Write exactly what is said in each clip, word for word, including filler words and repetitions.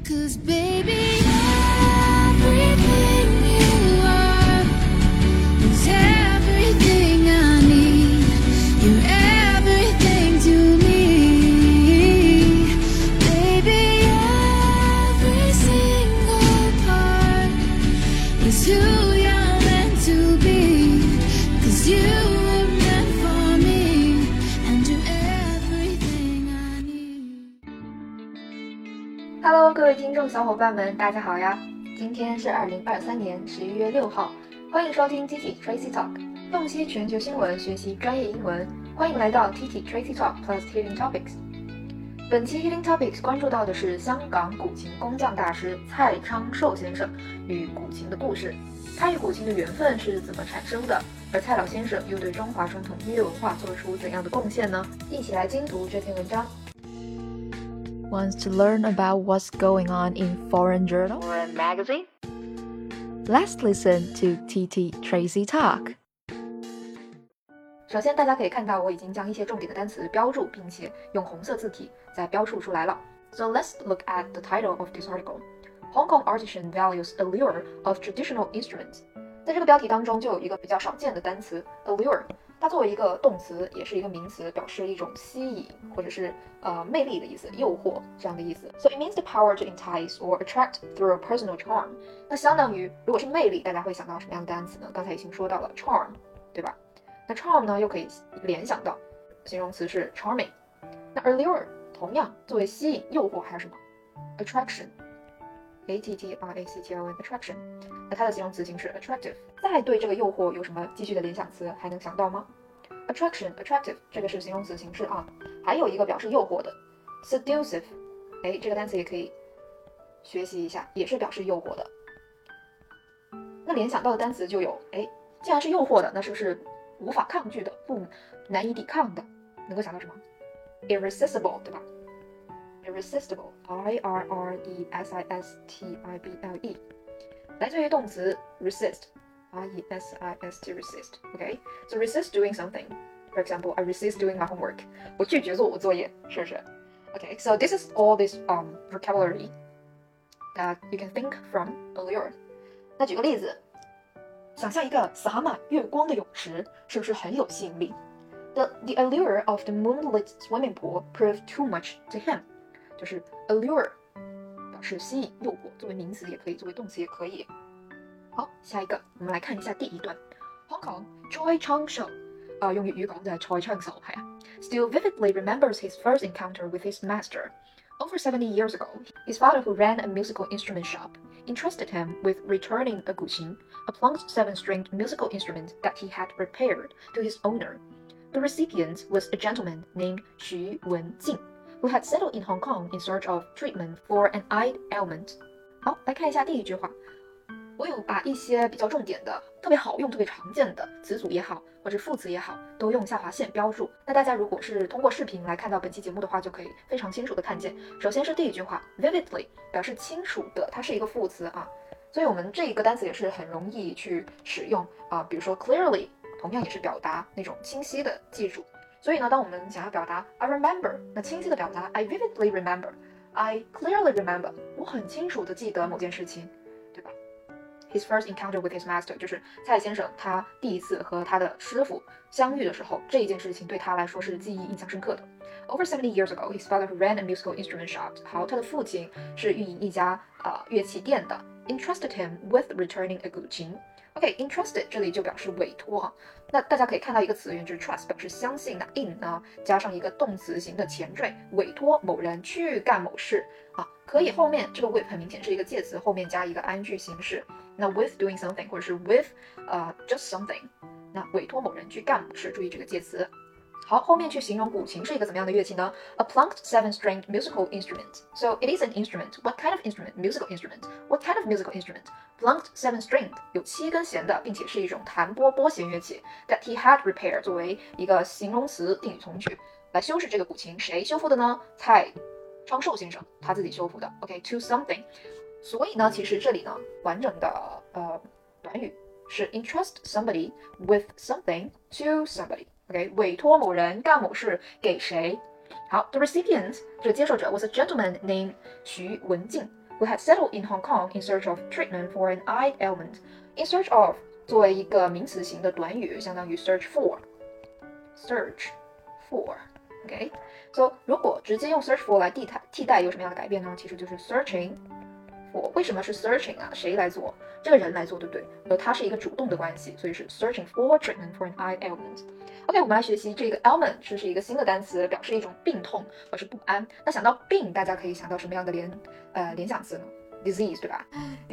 'Cause baby, everything you are is everything I need. You're everything to me. Baby, every single part is who you're meant to be. 'Cause you were meant for me, and you're everything I need. Hello， 各位听众小伙伴们，大家好呀！今天是二零二三年十一月六号，欢迎收听 T T Tracy Talk， 洞悉全球新闻，学习专业英文。欢迎来到 T T Tracy Talk Plus Healing Topics。本期 Healing Topics 关注到的是香港古琴工匠大师蔡昌寿先生与古琴的故事，他与古琴的缘分是怎么产生的？而蔡老先生又对中华传统音乐文化做出怎样的贡献呢？一起来精读这篇文章。 Wants to learn about what's going on in foreign journal or a magazine? Let's listen to T T Tracy Talk. 首先大家可以看到我已经将一些重点的单词标注，并且用红色字体再标注出来了。So let's look at the title of this article. Hong Kong artisan values allure of traditional instruments. 在这个标题当中就有一个比较少见的单词 allure， 它作为一个动词也是一个名词，表示一种吸引或者是呃魅力的意思，诱惑这样的意思。So it means the power to entice or attract through a personal charm. 那相当于如果是魅力，大家会想到什么样的单词呢？刚才已经说到了 charm， 对吧？那 charm 呢又可以联想到形容词是 charming。那 allure 同样作为吸引、诱惑还有什么 attraction。A T T R A C T I O N attraction， 那它的形容词形式 attractive。再对这个诱惑有什么继续的联想词还能想到吗？ Attraction attractive 这个是形容词形式啊，还有一个表示诱惑的 seductive， 哎，这个单词也可以学习一下，也是表示诱惑的。那联想到的单词就有，哎，既然是诱惑的，那是不是无法抗拒的，不难以抵抗的？能够想到什么 ？Irresistible， 对吧？Irresistible, I R R E S I S T I B L E， 来自于动词 resist, R E S I S T resist. Okay, so resist doing something. For example, I resist doing my homework. 我拒绝做我作业，是不是 ？Okay, so this is all this um vocabulary that you can think from allure. 那举个例子，想象一个洒满月光的泳池，是不是很有吸引力 ？The the allure of the moonlit swimming pool proved too much to him. 就是 allure 表示吸引、诱惑，作为名词也可以，作为动词也可以。好，下一个我们来看一下第一段。Hong Kong Choi Chang-shou 啊、呃，用粵語講就係蔡昌壽係啊 ，still vividly remembers his first encounter with his master. Over seventy years ago, his father, who ran a musical instrument shop, entrusted him with returning a guqin, a plunked seven-stringed musical instrument that he had repaired, to his owner. The recipient was a gentleman named Xu Wenjing, who had settled in Hong Kong in search of treatment for an eye ailment. 好，来看一下第一句话。我有把一些比较重点的、特别好用、特别常见的词组也好，或者副词也好，都用下划线标注。那大家如果是通过视频来看到本期节目的话，就可以非常清楚的看见。首先是第一句话 ，vividly 表示清楚的，它是一个副词啊，所以我们这个单词也是很容易去使用啊。比如说 clearly， 同样也是表达那种清晰的记住。所以呢，当我们想要表达 I remember， 那清晰的表达 I vividly remember， I clearly remember， 我很清楚的记得某件事情，对吧 ？His first encounter with his master， 就是蔡先生他第一次和他的师傅相遇的时候，这一件事情对他来说是记忆印象深刻的。Over seventy years ago, his father, who ran a musical instrument shop， 好，他的父亲是运营一家呃乐器店的 ，entrusted him with returning a guqin。OK，entrusted、okay, 这里就表示委托哈。那大家可以看到一个词源就是 trust， 表示相信。那 in 呢加上一个动词形的前缀，委托某人去干某事啊，可以后面这个 with 很明显是一个介词，后面加一个 ing 形式。那 with doing something 或者是 with 呃、uh, just something， 那委托某人去干某事，注意这个介词。好，后面去形容古琴是一个怎么样的乐器呢 ？A plunked seven-stringed musical instrument. So it is an instrument. What kind of instrument? Musical instrument. What kind of musical instrument? Plunked seven-stringed 有七根弦的，并且是一种弹拨拨弦乐器。That he had repaired 作为一个形容词定语从句来修饰这个古琴，谁修复的呢？蔡昌寿先生他自己修复的。OK，to something。所以呢，其实这里呢，完整的呃短语是 entrust somebody with something to somebody。OK， 委托某人干某事给谁？好 ，the recipient 这个接受者 was a gentleman named 徐文静。 who had settled in Hong Kong in search of treatment for an eye ailment. In search of 作为一个名词型的短语，相当于 search for。search for。OK， so 如果直接用 search for 来替代替代有什么样的改变呢？其实就是 searching for。为什么是 searching 啊？谁来做？这个人来做，对不对？而它是一个主动的关系，所以是 searching for treatment for an eye ailment。OK， 我们来学习这个 ailment， 这是一个新的单词，表示一种病痛或是不安。那想到病，大家可以想到什么样的联呃联想词呢 ？disease 对吧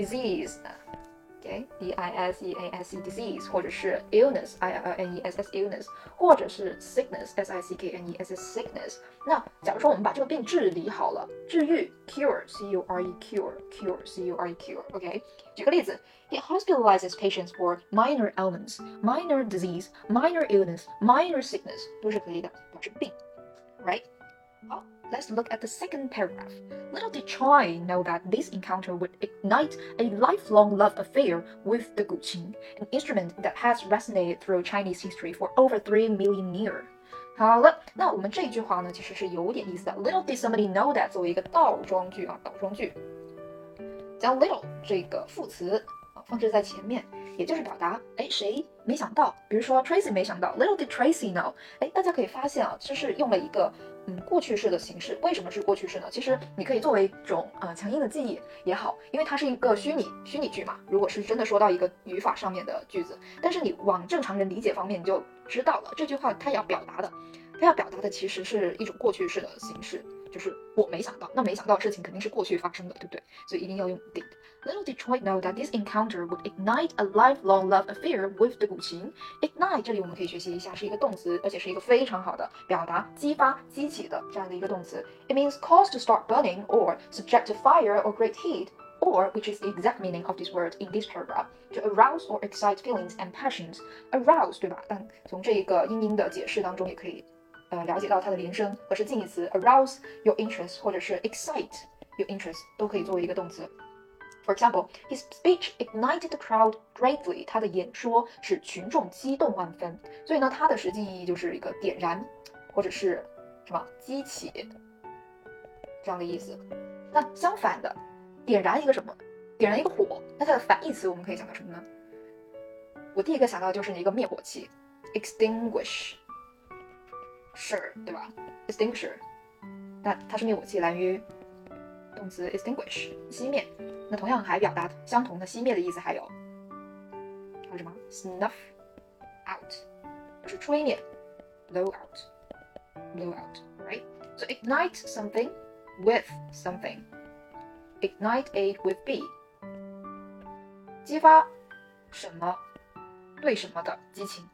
？disease。OK， D I S E A S E disease， 或者是 illness I L N E S S illness， 或者是 sickness S I C K N E S S sickness。那假如说我们把这个病治理好了，治愈 cure C U R E cure cure C U R E cure。OK， 举个例子 ，It hospitalizes patients for minor ailments, minor disease, minor illness, minor sickness 都是可以的，表示病 ，right？ 好。Let's look at the second paragraph. Little did Choi know that this encounter would ignite a lifelong love affair with the guqin, an instrument that has resonated through Chinese history for over three million years. 好了，那我们这一句话呢，其实是有点意思的。Little did somebody know that 作为一个倒装句啊，倒装句，将 little 这个副词啊放置在前面，也就是表达，哎，谁没想到？比如说 Tracy 没想到 ，Little did Tracy know。哎，大家可以发现啊，这是用了一个。嗯，过去式的形式，为什么是过去式呢？其实你可以作为一种呃强硬的记忆也好，因为它是一个虚拟虚拟句嘛。如果是真的说到一个语法上面的句子，但是你往正常人理解方面，你就知道了这句话它要表达的，它要表达的其实是一种过去式的形式，就是我没想到，那没想到的事情肯定是过去发生的，对不对？所以一定要用 did。Little did Choi know that this encounter would ignite a lifelong love affair with the guqin. Ignite 这里我们可以学习一下，是一个动词，而且是一个非常好的表达激发、激起的这样的一个动词。It means cause to start burning or subject to fire or great heat, or which is the exact meaning of this word in this paragraph, to arouse or excite feelings and passions. Arouse 对吧？但从这个英音的解释当中也可以呃了解到它的连声和是近义词 arouse your interest 或者是 excite your interest 都可以作为一个动词。For example, his speech ignited the crowd greatly. 他的演说使群众激动万分。所以呢，它的实际意义就是一个点燃，或者是什么激起这样的意思。那相反的，点燃一个什么？点燃一个火，那它的反义词我们可以想到什么呢？我第一个想到就是一个灭火器 ，extinguish， 是，对吧 ？extinguisher， 那它是灭火器，来源于动词 extinguish， 熄灭。那同样还表达相同的熄灭的意思，还有还有什么 snuff out， 就是吹灭 blow out blow out right so ignite something with something ignite A with B 激发什么对什么的激情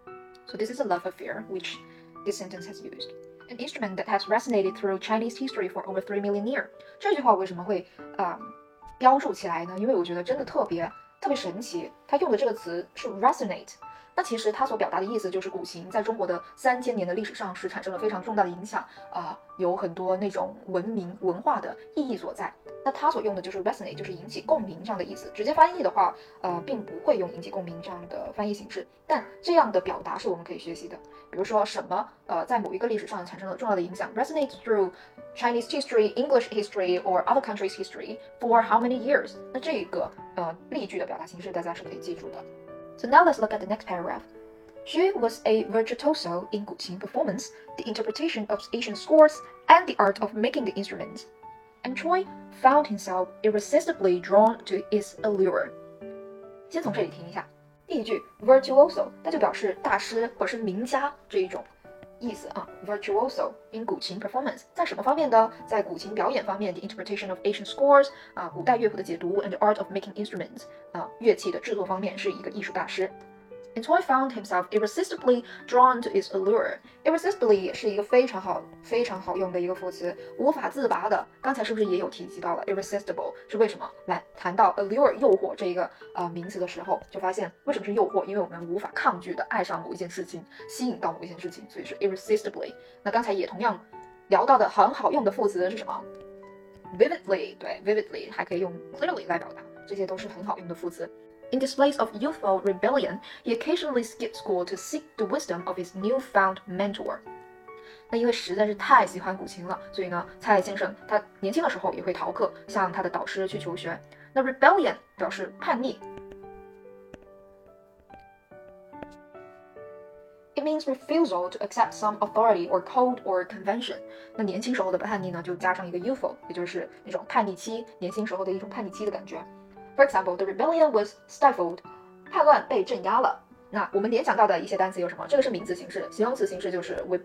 so this is a love affair which this sentence has used an instrument that has resonated through Chinese history for over three million years 这句话为什么会啊、um, 标注起来呢？因为我觉得真的特别特别神奇，它用的这个词是 resonate。那其实它所表达的意思就是古琴在中国的三千年的历史上是产生了非常重大的影响啊、呃，有很多那种文明文化的意义所在。那它所用的就是 resonate， 就是引起共鸣这样的意思。直接翻译的话，呃，并不会用引起共鸣这样的翻译形式，但这样的表达是我们可以学习的。比如说什么呃，在某一个历史上产生了重要的影响 ，resonate through Chinese history, English history, or other countries' history for how many years？ 那这个呃例句的表达形式大家是可以记住的。So now let's look at the next paragraph. Xu was a virtuoso in guqin performance, the interpretation of ancient scores, and the art of making the instrument. And Choi found himself irresistibly drawn to its allure. 先从这里停一下，第一句 virtuoso， 它就表示大师或者是名家这一种意思啊。virtuoso in 古琴 performance 在什么方面的？在古琴表演方面 ，the interpretation of ancient scores 啊，古代乐谱的解读 ，and the art of making instruments 啊，乐器的制作方面是一个艺术大师。And Choi found himself irresistibly drawn to its allure. Irresistibly 也是一个非常好、非常好用的一个副词，无法自拔的。刚才是不是也有提及到了 irresistible 是为什么？来谈到 allure 诱惑这一个呃名词的时候，就发现为什么是诱惑？因为我们无法抗拒的爱上某一件事情，吸引到某一件事情，所以是 irresistibly。那刚才也同样聊到的很好用的副词是什么 ？vividly， 对 ，vividly 还可以用 clearly 来表达，这些都是很好用的副词。In displays of youthful rebellion, he occasionally skipped school to seek the wisdom of his newfound mentor. 那因为实在是太喜欢古琴了，所以呢，蔡先生他年轻的时候也会逃课，向他的导师去求学。那 rebellion 表示叛逆。It means refusal to accept some authority or code or convention。那年轻时候的叛逆呢，就加上一个 youthful， 也就是那种叛逆期，年轻时候的一种叛逆期的感觉。For example, the rebellion was stifled。叛乱被镇压了。那我们联想到的一些单词有什么？这个是名词形式，形容词形式就是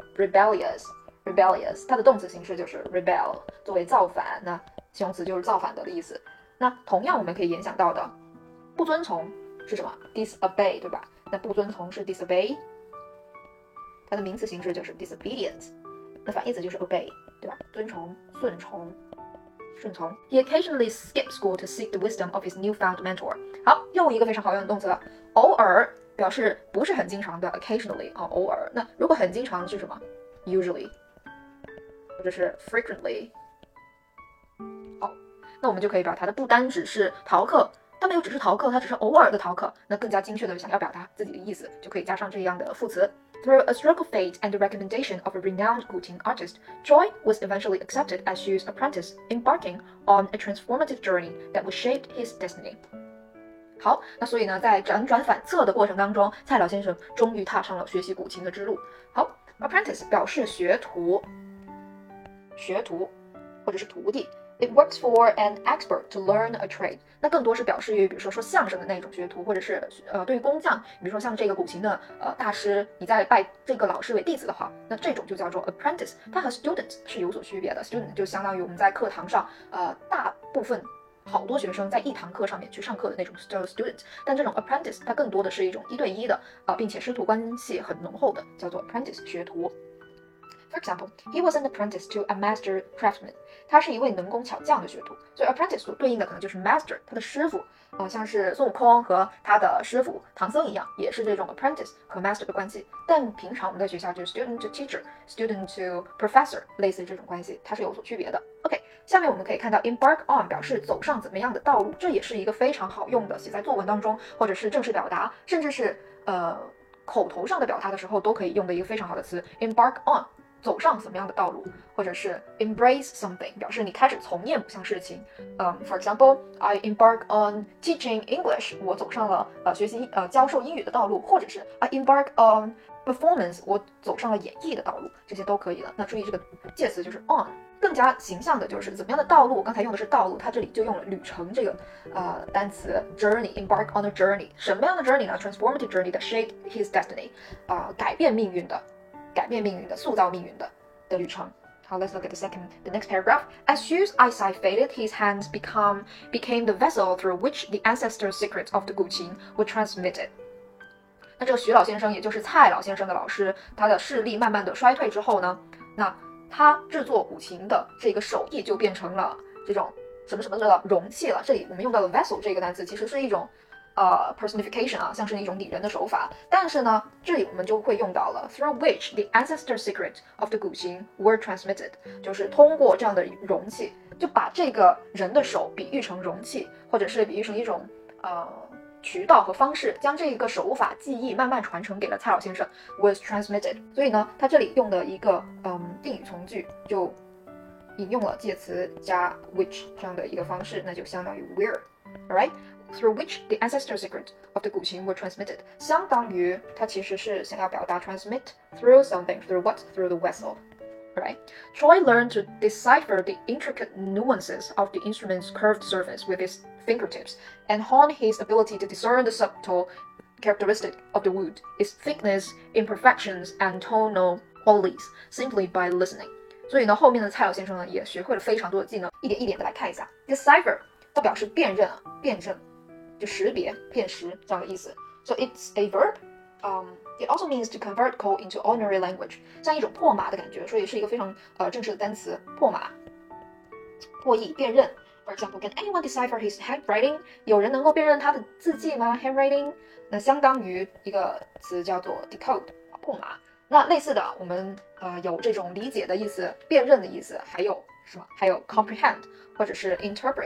rebellious，rebellious， 它的动词形式就是 rebel， 作为造反，那形容词就是造反的意思。那同样我们可以联想到的，不遵从是什么 ？disobey， 对吧？那不遵从是 disobey。它的名词形式就是 disobedience， 那反义词就是 obey， 对吧？遵从、顺从、顺从。He occasionally skipped school to seek the wisdom of his newfound mentor。好，又一个非常好用的动词了，偶尔表示不是很经常的 occasionally 啊、哦，偶尔。那如果很经常是什么 ？usually， 或者是 frequently。好，那我们就可以表达它不单只是逃课。它没有只是逃课，它只是偶尔的逃课。那更加精确的想要表达自己的意思，就可以加上这样的副词。Through a stroke of fate and the recommendation of a renowned Guqin artist, Choi was eventually accepted as Xu's apprentice, embarking on a transformative journey that would shape his destiny. 好，那所以呢，在辗转反侧的过程当中，蔡老先生终于踏上了学习古琴的之路。好 ，apprentice 表示学徒，学徒或者是徒弟。It works for an expert to learn a trade。那更多是表示于，比如说说相声的那种学徒，或者是呃对于工匠，比如说像这个古琴的呃大师，你在拜这个老师为弟子的话，那这种就叫做 apprentice。它和 student 是有所区别的。student 就相当于我们在课堂上呃大部分好多学生在一堂课上面去上课的那种叫做 student， 但这种 apprentice 它更多的是一种一对一的啊、呃，并且师徒关系很浓厚的，叫做 apprentice 学徒。For example, he was an apprentice to a master craftsman. 他是一位能工巧匠的学徒，所以 apprentice 所对应的可能就是 master， 他的师傅，呃，像是孙悟空和他的师傅唐僧一样，也是这种 apprentice 和 master 的关系。但平常我们在学校就是 student to teacher、student to professor， 类似这种关系，它是有所区别的。OK， 下面我们可以看到 embark on 表示走上怎么样的道路，这也是一个非常好用的，写在作文当中，或者是正式表达，甚至是呃口头上的表达的时候都可以用的一个非常好的词 embark on。走上什么样的道路，或者是 embrace something 表示你开始从业某项事情。嗯、um, ，For example, I embark on teaching English， 我走上了呃学习呃教授英语的道路，或者是 I embark on performance， 我走上了演绎的道路，这些都可以了。那注意这个介词就是 on， 更加形象的就是怎么样的道路。我刚才用的是道路，它这里就用了旅程这个呃单词 journey， embark on a journey， 什么样的 journey 呢 ？Transformative journey that shaped his destiny， 啊、呃，改变命运的。改变命运的、塑造命运的的旅程。好 ，Let's look at the second, the next paragraph. As Xu's eyesight faded, his hands become became the vessel through which the ancestor secrets of the Guqin were transmitted. 那这个徐老先生，也就是蔡老先生的老师，他的视力慢慢的衰退之后呢，那他制作古琴的这个手艺就变成了这种什么什么的容器了。这里我们用到的 vessel 这个单词，其实是一种。呃、uh, personification 啊，像是一种拟人的手法，但是呢，这里我们就会用到了 through which the ancestor secret of the Guqin were transmitted， 就是通过这样的容器，就把这个人的手比喻成容器，或者是比喻成一种呃渠道和方式，将这个手法技艺慢慢传承给了蔡老先生 was transmitted。所以呢，他这里用的一个嗯定语从句就引用了介词加 which 这样的一个方式，那就相当于 were，all right。Through which the ancestor secret of the Guqin were transmitted， 相当于它其实是想要表达 transmit through something, through what? Through the vessel. Right? Choi learned to decipher the intricate nuances of the instrument's curved surface with his fingertips and honed his ability to discern the subtle characteristic of the wood, its thickness, imperfections, and tonal qualities, simply by listening. 所以呢，后面的蔡老先生呢也学会了非常多的技能，一点一点的来看一下 decipher 它表示辨认啊，辨认。就识别、辨识这样的意思。So it's a verb. Um, it also means to convert code into ordinary language， 像一种破码的感觉，所以是一个非常呃正式的单词，破码、破译、辨认。For example, can anyone decipher his handwriting？ 有人能够辨认他的字迹吗 ？Handwriting， 那相当于一个词叫做 decode， 破码。那类似的，我们呃有这种理解的意思、辨认的意思，还有什么？还有 comprehend 或者是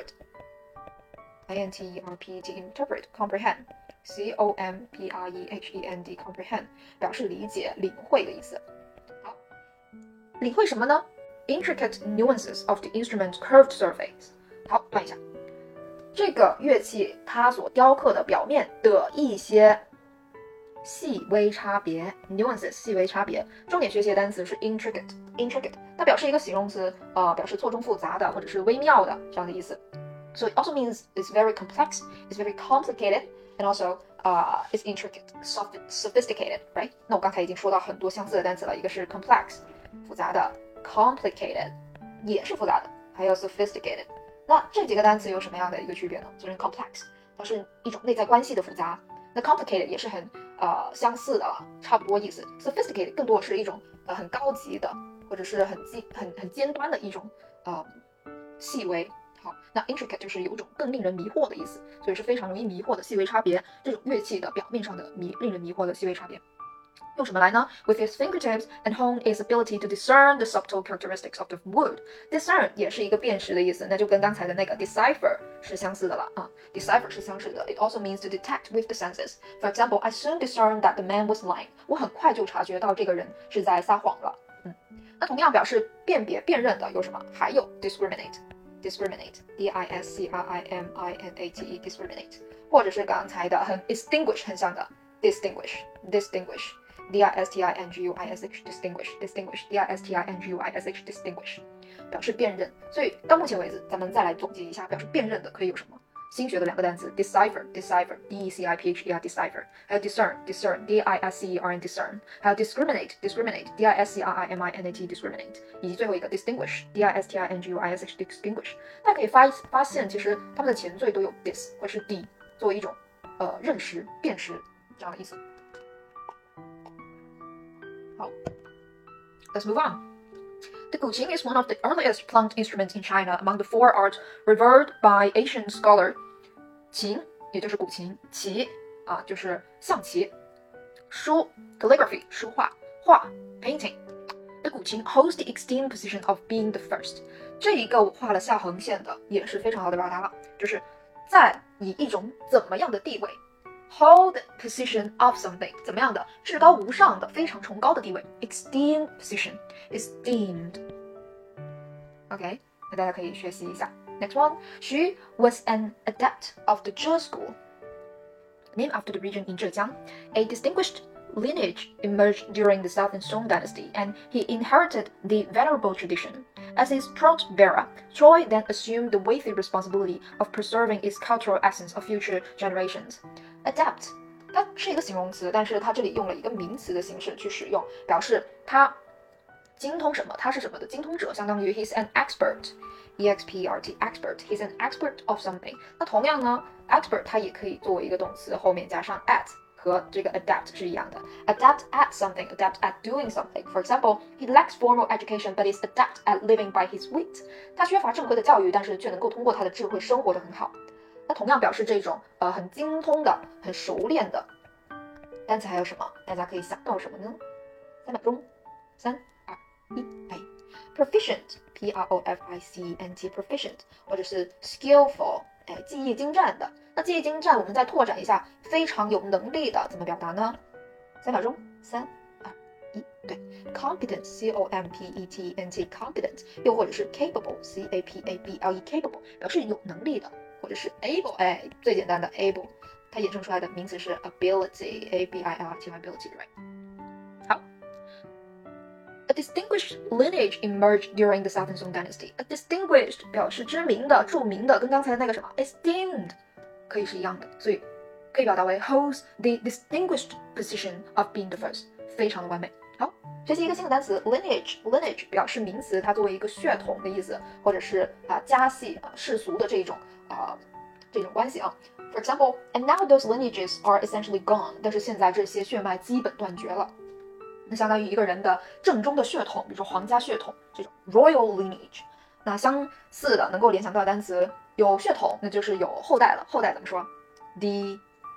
interpret。I N T E R P E T interpret comprehend C O M P R E H E N D comprehend 表示理解、领会的意思。好， 领会什么呢？ Intricate nuances of the instrument's curved surface。好，断一下。这个乐器它所雕刻的表面的一些细微差别 nuances 细微差别，重点学习的单词是 intricate intricate， 它表示一个形容词，呃，表示错综复杂的或者是微妙的这样的意思。So it also means it's very complex, it's very complicated, and also uh, it's intricate, sophisticated, right? 那我刚才已经说到很多相似的单词了，一个是 complex 复杂的 ，complicated 也是复杂的，还有 sophisticated。那这几个单词有什么样的一个区别呢？就是 complex 它是一种内在关系的复杂，那 complicated 也是很呃相似的，差不多意思。sophisticated 更多是一种呃很高级的，或者是很尖很很尖端的一种呃细微。好，那 intricate 就是有种更令人迷惑的意思，所以是非常容易迷惑的细微差别。这种乐器的表面上的迷令人迷惑的细微差别。用什么来呢 ？With his fingertips and hone his ability to discern the subtle characteristics of the wood. Discern 也是一个辨识的意思，那就跟刚才的那个 decipher 是相似的了啊。Decipher 是相似的。It also means to detect with the senses. For example, I soon discerned that the man was lying. 我很快就察觉到这个人是在撒谎了。嗯，那同样表示辨别、辨认的有什么？还有 discriminate。discriminate, D I S C R I M I N A T E, discriminate， 或者是刚才的很 distinguish 很像的 distinguish, distinguish。D I S T I N G U I S H distinguish distinguish D I S T I N G U I S H distinguish 表示辨认。所以到目前为止，咱们再来总结一下表示辨认的可以有什么？新学的两个单词 decipher decipher D E C I P H E R decipher， 还有 discern discern D I S C E R N discern， 还有 discriminate discriminate D I S C R I M I N A T discriminate， 以及最后一个 distinguish D I S T I N G U I S H distinguish。大家可以发发现，其实它们的前缀都有 dis 或是 d 作为一种呃认识、辨识这样的意思。好 ，Let's move on. The guqin is one of the earliest plunked instruments in China among the four arts revered by Asian scholar. 琴也就是古琴，棋啊就是象棋，书 calligraphy 书画，画 painting. The guqin holds the esteemed position of being the first. 这一个我画了下横线的也是非常好的表达了，就是在以一种怎么样的地位。Hold position of something 怎么样的至高无上的非常崇高的地位 esteemed position esteemed OK 那大家可以学习一下 Next one Xu was an adept of the Zhe school named after the region in Zhejiang. A distinguished lineage emerged during the Southern Song dynasty and he inherited the venerable tradition. As his trunk bearer, Choi then assumed the weighty responsibility of preserving its cultural essence of future generations.Adept 它是一个形容词，但是它这里用了一个名词的形式去使用，表示他精通什么，他是什么的精通者，相当于 he's an expert E X P E R T expert he's an expert of something。 那同样呢 expert 它也可以作为一个动词后面加上 at， 和这个 adapt 是一样的 adapt at something adapt at doing something。 For example, he lacks formal education but is adept at living by his wit。 他缺乏正规的教育，但是却能够通过他的智慧生活得很好。那同样表示这种呃很精通的、很熟练的单词还有什么？大家可以想到什么呢？三秒钟，三、二、一，哎 ，proficient P R O F I C E N T proficient， 或者是 skillful， 哎，技艺精湛的。那技艺精湛，我们再拓展一下，非常有能力的，怎么表达呢？三秒钟，三、二、一，对 ，competent C O M P E T E N T competent， 又或者是 capable C A P A B L E capable， 表示有能力的。或者是 able， 哎，最简单的 able， 它衍生出来的名词是 ability A B I L I T Y ability right。 好 A distinguished lineage emerged during the Southern Song dynasty。 A distinguished 表示知名的、著名的，跟刚才那个什么 esteemed 可以是一样的，所以可以表达为 holds the distinguished position of being the first， 非常的完美。好，学习一个新的单词 lineage lineage 表示名词，它作为一个血统的意思，或者是啊家系啊世俗的这种啊这种关系啊。For example, and now those lineages are essentially gone。 但是现在这些血脉基本断绝了。那相当于一个人的正宗的血统，比如说皇家血统这种 royal lineage。那相似的能够联想到的单词有血统，那就是有后代了。后代怎么说 ？the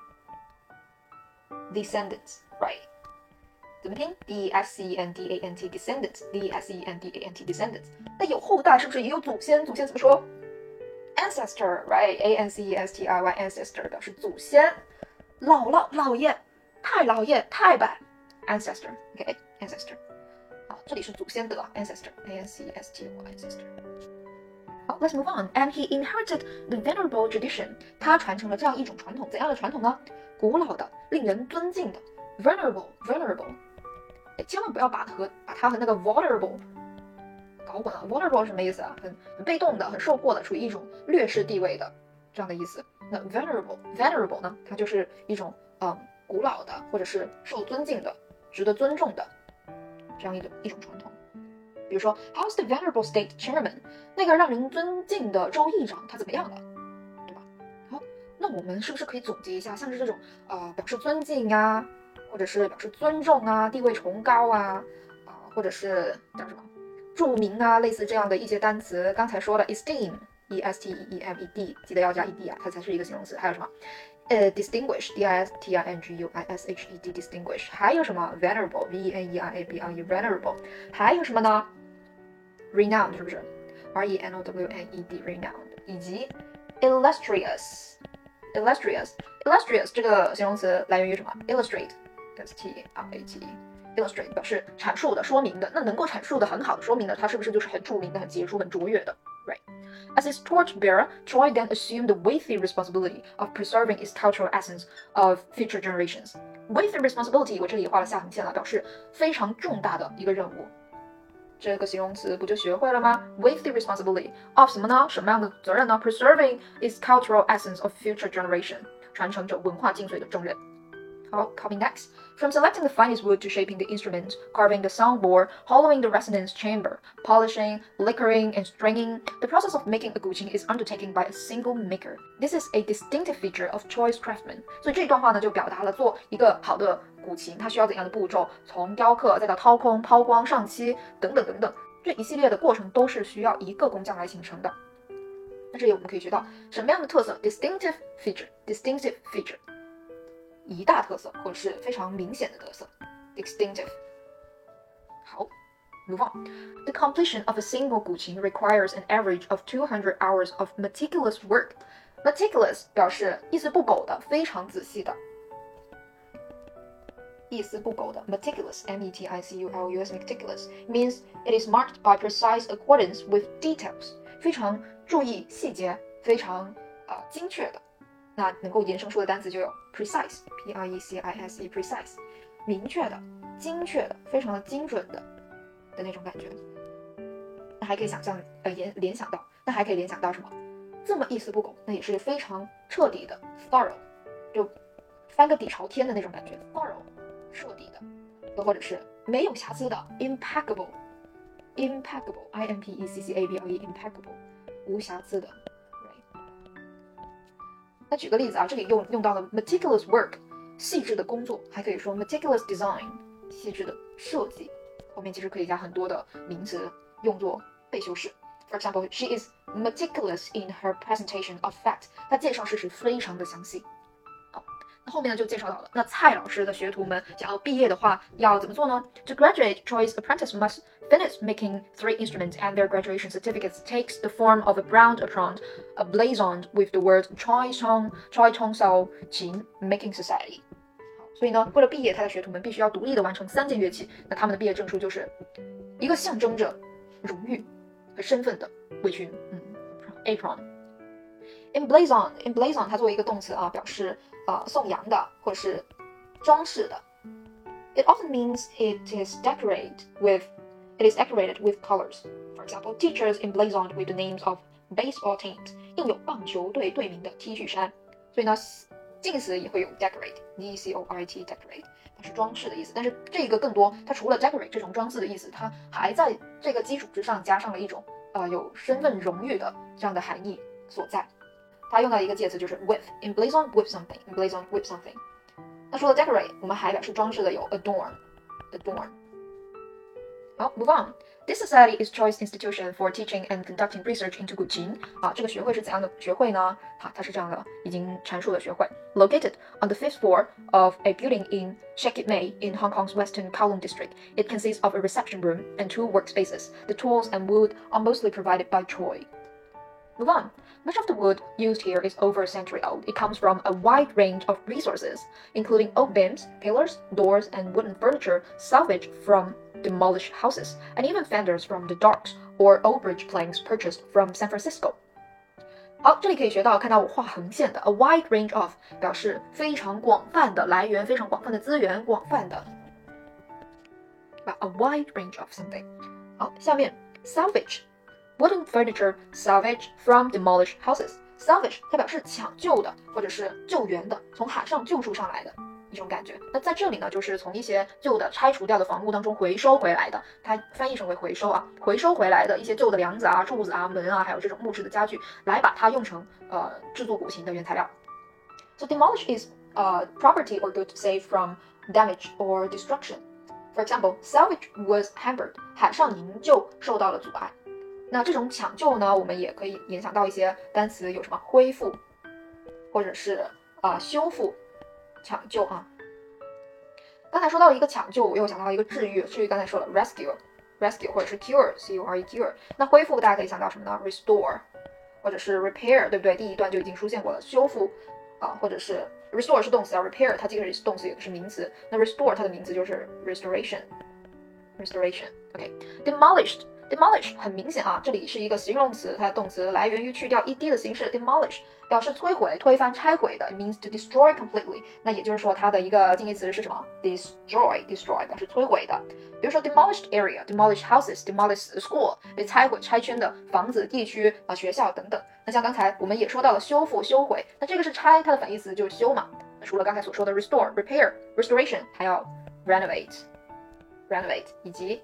descendants, right？怎么拼 ？D S C E N D A N T descendants D S C E N D A N T descendants。那有后代是不是也有祖先？祖先怎么说 ？Ancestor right A N C E S T R Y ancestor 表示祖先，姥姥、姥爷、太姥爷、太伯 ancestor OK ancestor。好， 这里是祖先的 ancestor，A N C S T O R ancestor。好 ，Let's move on. And he inherited the venerable tradition. 他传承了这样一种传统，怎样的传统呢？古老的、令人尊敬的 venerable，venerable。千万不要把和把它和那个 vulnerable 搞混了。vulnerable 是什么意思啊？很很被动的、很受迫的，处于一种劣势地位的这样的意思。那 venerable，venerable 呢？它就是一种嗯古老的，或者是受尊敬的、值得尊重的这样一种一种传统。比如说 ，How's the venerable state chairman？ 那个让人尊敬的州议长他怎么样了，对吧？好，那我们是不是可以总结一下，像是这种呃表示尊敬啊，或者是表示尊重啊、地位崇高啊，啊、呃，或者是叫什么著名啊，类似这样的一些单词，刚才说的 esteem，e s t e e m e d， 记得要加 ed 啊，它才是一个形容词。还有什么？呃 ，distinguish，d i s t i n g u i s h e d，distinguish。还有什么 venerable，v e n e r a b l e，venerable。还有什么呢 ？renowned 是不是 ？r e n o w n e d，renowned。以及 illustrious，illustrious，illustrious 这个形容词来源于什么 ？illustrate，s t r a t e。illustrate 表示阐述的、说明的，那能够阐述的很好的、说明的，它是不是就是很著名的、很杰出、很卓越的 ？Right. As its torchbearer, Troy then assumed the weighty responsibility of preserving its cultural essence of future generations. Weighty responsibility 我这里也画了下横线了，表示非常重大的一个任务。这个形容词不就学会了吗 ？Weighty responsibility of 什么呢？什么样的责任呢 ？Preserving its cultural essence of future generation， 传承着文化精髓的重任。好 ，copy next. From selecting the finest wood to shaping the instrument, carving the soundboard, hollowing the resonance chamber, polishing, lacquering, and stringing, the process of making a guqin is undertaken by a single maker. This is a distinctive feature of Troy's craftsmen. 所以这段话呢，就表达了做一个好的古琴，它需要怎样的步骤，从雕刻再到掏空、抛光、上漆等等等等，这一系列的过程都是需要一个工匠来形成的。那这里我们可以学到什么样的特色 ？distinctive feature，distinctive feature。一大特色，或者是非常明显的特色 ，distinctive。好 ，move on. The completion of a single guqin requires an average of two hundred hours of meticulous work. Meticulous 表示一丝不苟的，非常仔细的。一丝不苟的 meticulous, m e t i c u l u s, meticulous means it is marked by precise accordance with details. 非常注意细节，非常呃精确的。那能够衍生出的单词就有 precise, p r e c i s e, precise， 明确的、精确的、非常的精准的的那种感觉。那还可以想象，呃，联联想到，那还可以联想到什么？这么一丝不苟，那也是非常彻底的 thorough， 就翻个底朝天的那种感觉 thorough， 彻底的，又或者是没有瑕疵的 impeccable, impeccable, i m p e c c a b l e, impeccable， 无瑕疵的。那举个例子啊，这里用用到了 meticulous work， 细致的工作，还可以说 meticulous design， 细致的设计。后面其实可以加很多的名词用作被修饰。For example, she is meticulous in her presentation of fact。她介绍事实非常的详细。好，那后面呢就介绍到了，那蔡老师的學徒們想要畢業的話，要怎麼做呢 ？To graduate, Troy's apprentice must finish making three instruments, and their graduation certificates takes the form of a brown apron, blazoned with the word Troy Chong Troy Chong Sao Qin Making Society。所以呢，为了毕业，他的学徒们必须要独立的完成三件乐器。那他们的毕业证书就是一个象征着荣誉和身份的围裙，嗯 ，apron。Emblazon, emblazon 它作为一个动词啊，表示呃颂扬的或者是装饰的。It often means it is decorated with It is decorated with colors. For example, teachers emblazoned with the names of baseball teams. 印有棒球队队名的 T 恤衫。所以呢，近词也会有 decorate, d e c o r a t, decorate， 它是装饰的意思。但是这个更多，它除了 decorate 这种装饰的意思，它还在这个基础之上加上了一种呃有身份荣誉的这样的含义所在。它用到一个介词就是 with, emblazoned with something, emblazoned with something。那说了 decorate， 我们还表示装饰的有 adorn, adorn。好 ，move on. This society is Troy's institution for teaching and conducting research into guqin. 啊，这个学会是怎样的学会呢？好，它是这样的，已经阐述的学会。Located on the fifth floor of a building in Shakit Mei in Hong Kong's Western Kowloon district, it consists of a reception room and two workspaces. The tools and wood are mostly provided by Troy. Move on. Much of the wood used here is over a century old. It comes from a wide range of resources, including oak beams, pillars, doors, and wooden furniture salvaged from demolished houses, and even fenders from the docks or old bridge planks purchased from San Francisco. 好，这里可以学到，看到我画横线的 a wide range of 表示非常广泛的来源，非常广泛的资源，广泛的，对吧 ？a wide range of something。好，下面 salvage wooden furniture salvage from demolished houses。salvage 它表示抢救的，或者是救援的，从海上救助上来的一种感觉。那在这里呢，就是从一些旧的拆除掉的房屋当中回收回来的，它翻译成为回收啊，回收回来的一些旧的梁子啊、柱子啊、门啊，还有这种木质的家具，来把它用成呃制作古琴的原材料。So demolish is uh property or good saved from damage or destruction. For example, salvage was hampered. 海上营救受到了阻碍。那这种抢救呢，我们也可以联想到一些单词，有什么恢复，或者是啊、呃、修复。抢救啊，刚才说到了一个抢救，我又想到一个治愈，治愈刚才说了 rescue rescue 或者是 cure c u r e cure。那恢复大家可以想到什么呢 ？restore 或者是 repair， 对不对？第一段就已经出现过了，修复啊，或者是 restore 是动词啊 ，repair 它既可以是动词也是名词。那 restore 它的名词就是 restoration restoration。OK，demolished。demolish 很明显啊，这里是一个形容词，它的动词来源于去掉 ed 的形式 demolish， 表示摧毁、推翻、拆毁的 ，it means to destroy completely。那也就是说，它的一个近义词是什么 ？destroy destroy 表示摧毁的。比如说 demolished area、demolished houses、demolished school 被拆毁、拆迁的房子、地区啊、学校等等。那像刚才我们也说到了修复、修毁，那这个是拆，它的反义词就是修嘛。那除了刚才所说的 restore、repair、restoration， 还要 renovate、renovate 以及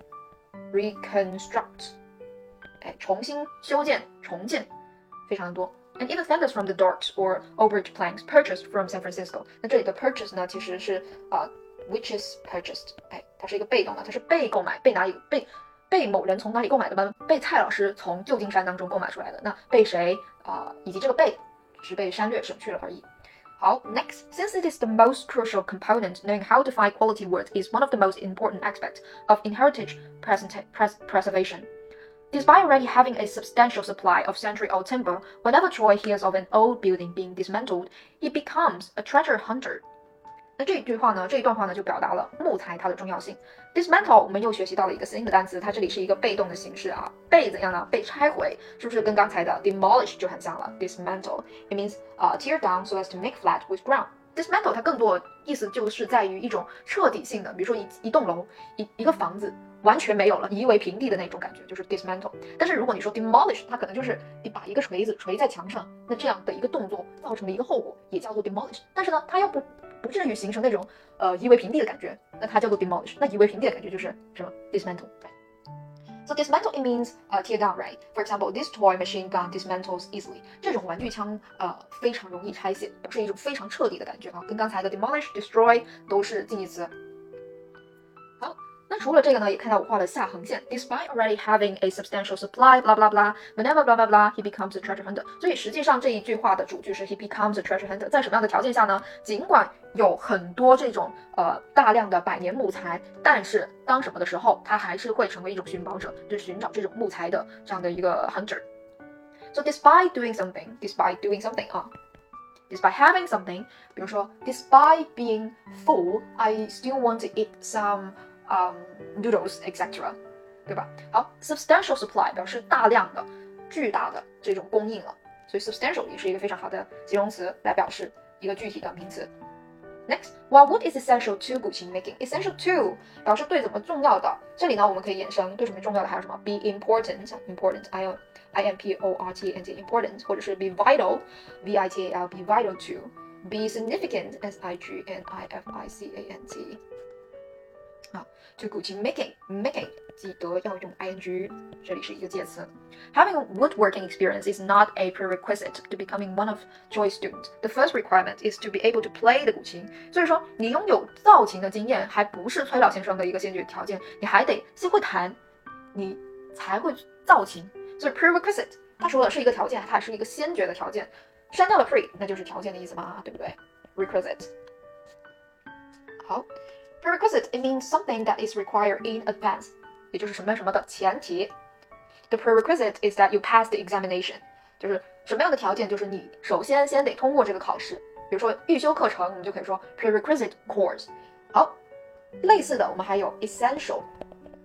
reconstruct， 哎，重新修建、重建，非常的多。And even fenders from the docks or old bridge planks purchased from San Francisco。那这里的 purchase 呢，其实是啊、呃、，which is purchased， 哎，它是一个被动的，它是被购买，被哪里被被某人从哪里购买的吗？被蔡老师从旧金山当中购买出来的。那被谁啊、呃，以及这个被只是被删略省去了而已。好 ，next, since it is the most crucial component, knowing how to find quality words is one of the most important aspects of inheritage preservation. Despite already having a substantial supply of century-old timber, whenever Troy hears of an old building being dismantled, he becomes a treasure hunter. 那这一句话呢，这一段话呢，就表达了木材它的重要性。dismantle 我们又学习到了一个新的单词，它这里是一个被动的形式啊，被怎样呢？被拆毁，是不是跟刚才的 demolish 就很像了 ？dismantle it means 啊、uh, tear down so as to make flat with ground. dismantle 它更多意思就是在于一种彻底性的，比如说一一栋楼、一一个房子完全没有了，夷为平地的那种感觉，就是 dismantle。但是如果你说 demolish， 它可能就是你把一个锤子锤在墙上，那这样的一个动作造成的一个后果也叫做 demolish。但是呢，它又不不至于形成那种呃夷为平地的感觉，那它叫做 demolish。那夷为平地的感觉就是什么 dismantle。So dismantle it means uh, tear down, right? For example, this toy machine gun dismantles easily. 这种玩具枪呃非常容易拆卸，表示一种非常彻底的感觉啊，跟刚才的 demolish、destroy 都是近义词。好，那除了这个呢，也看到我画了下横线 ，despite already having a substantial supply, blah blah blah, whenever blah blah blah, he becomes a treasure hunter. 所以实际上这一句话的主句是 he becomes a treasure hunter。在什么样的条件下呢？尽管有很多这种呃大量的百年木材，但是当什么的时候，他还是会成为一种寻宝者，就是寻找这种木材的这样的一个 hunter。So despite doing something, despite doing something 啊。Despite having something， 比如说 Despite being full, I still want to eat some um, noodles, et cetera. 对吧？好 ，substantial supply 表示大量的、巨大的这种供应了，所以 substantial 也是一个非常好的形容词来表示一个具体的名词。Next, while wood is essential to 古琴 making, essential to 表示对怎么重要的。这里呢，我们可以衍生对什么重要的，还有什么 be important, important, I O I M P O R T A N T, important， 或者是 be vital, V I T A L, be vital to, be significant, S I G N I F I C A N T。好 ，to 古琴 making, making 记得要用 ing， 这里是一个介词。Having a woodworking experience is not a prerequisite to becoming one of Troy's students. The first requirement is to be able to play 的古琴。所以说，你拥有造琴的经验，还不是崔老先生的一个先决条件，你还得先会弹，你才会造琴。所以 prerequisite 它除了是一个条件，它还是一个先决的条件。删掉了 pre， 那就是条件的意思嘛，对不对 ？requisite。好 ，prerequisite it means something that is required in advance， 也就是什么什么的前提。The prerequisite is that you pass the examination， 就是什么样的条件，就是你首先先得通过这个考试。比如说预修课程，我们就可以说 prerequisite course。好，类似的我们还有 essential，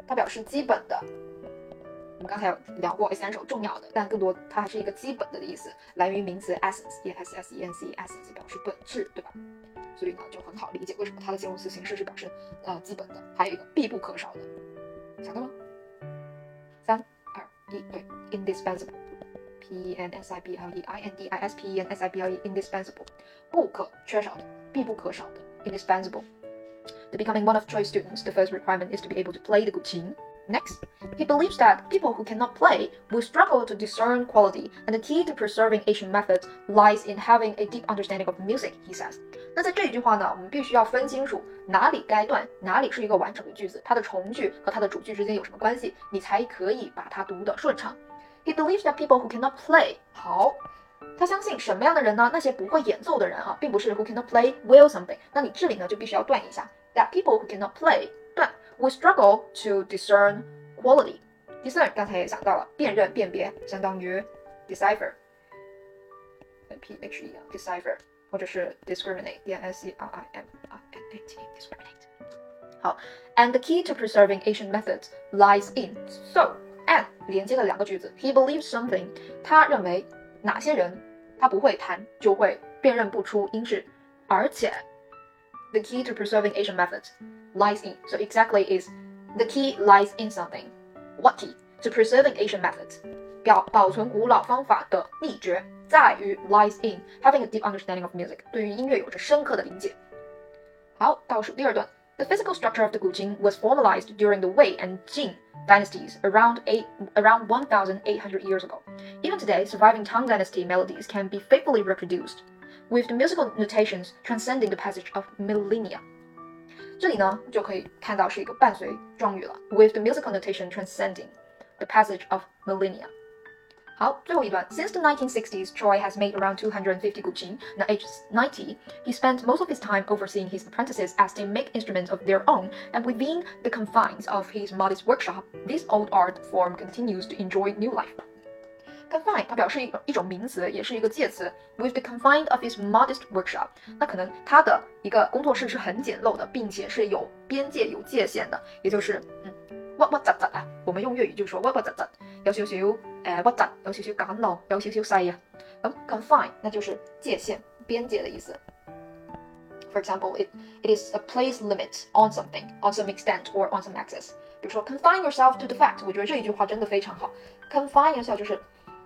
它表示基本的。我们刚才有聊过 essential 重要的，但更多它还是一个基本的的意思，来源于名词 essence， e s s e n c essence 表示本质，对吧？所以呢就很好理解为什么它的形容词形式是表示呃基本的。还有一个必不可少的，想到吗？三二一，对 ，indispensable。P E N S I B L E I N D I S P E N S I B L E indispensable 不可缺少的，必不可少的 indispensable. To becoming one of Troy's students, the first requirement is to be able to play the guqin. Next, he believes that people who cannot play will struggle to discern quality, and the key to preserving Asian methods lies in having a deep understanding of music, he says. 那在这一句话呢，我们必须要分清楚哪里该断，哪里是一个完整的句子，它的从句和它的主句之间有什么关系，你才可以把它读得顺畅。He believes that people who cannot play 好，他相信什么样的人呢？那些不会演奏的人啊，并不是 who cannot play will something。那你这里呢就必须要断一下 that people who cannot play 断 will struggle to discern quality。discern 刚才也讲到了，辨认、辨别，相当于 decipher。P H E decipher 或者是 discriminate D I S C R I M I N A T discriminate。好 ，and the key to preserving Asian methods lies in so。and 连接了两个句子 he believes something 他认为哪些人他不会弹就会辨认不出音质，而且 the key to preserving Asian methods lies in so exactly is the key lies in something what key to preserving Asian methods 表保存古老方法的秘诀在于 lies in having a deep understanding of music 对于音乐有着深刻的理解。好，倒数第二段The physical structure of the guqin was formalized during the Wei and Jin dynasties around, eight, around one thousand eight hundred years ago. Even today, surviving Tang Dynasty melodies can be faithfully reproduced, with the musical notations transcending the passage of millennia. 这里呢，就可以看到是一个伴随状语了 with the musical notation transcending the passage of millennia. 好，最后一段 Since the nineteen sixties, Troy has made around two hundred fifty guqin. Now aged ninety, he spent most of his time overseeing his apprentices as they make instruments of their own, and within the confines of his modest workshop, this old art form continues to enjoy new life. Confine 它表示一种一种名词，也是一个介词。With the confine of his modest workshop， 那可能他的一个工作室是很简陋的，并且是有边界、有界限的，也就是嗯。屈屈窒窒啊，我們用粵語就說屈屈窒窒，有少少誒屈窒，有少少簡陋，有少少細啊。咁 confine 那就是界限、邊界的意思。For example, it it is a place limit on something, on some extent or on some access. 比如說 confine yourself to the fact， 我覺得這一句話真的非常好。confine yourself 就是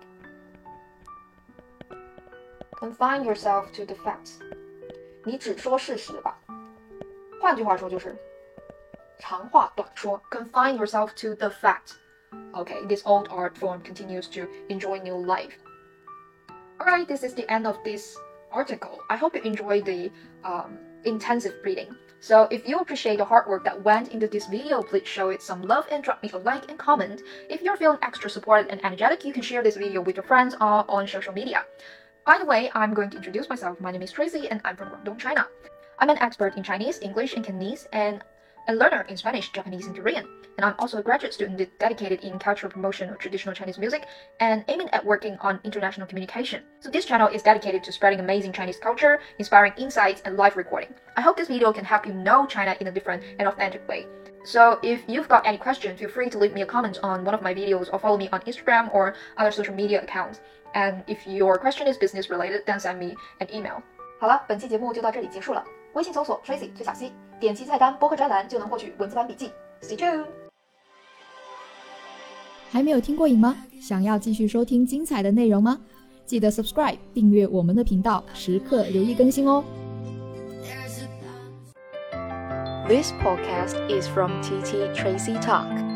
confine yourself to the facts， 你只說事實吧。換句話說就是。長話短說 confine yourself to the fact. Okay, this old art form continues to enjoy new life. Alright, this is the end of this article. I hope you enjoyed the um, intensive reading. So if you appreciate the hard work that went into this video, please show it some love and drop me a like and comment. If you're feeling extra supported and energetic, you can share this video with your friends or on social media. By the way, I'm going to introduce myself. My name is Tracy and I'm from Guangdong, China. I'm an expert in Chinese, English, and Cantonese, and a learner in Spanish, Japanese, and Korean. And I'm also a graduate student dedicated in cultural promotion of traditional Chinese music and aiming at working on international communication. So this channel is dedicated to spreading amazing Chinese culture, inspiring insights, and live recording. I hope this video can help you know China in a different and authentic way. So if you've got any questions, feel free to leave me a comment on one of my videos or follow me on Instagram or other social media accounts. And if your question is business related, then send me an email. 好了，本期节目就到这里结束了。微信搜索 Tracy 崔小溪，点击菜单播客专栏就能获取文字版笔记。Stay tuned。 还没有听过瘾吗？想要继续收听精彩的内容吗？记得 subscribe 订阅我们的频道，时刻留意更新哦。 This podcast is from T T Tracy Talk.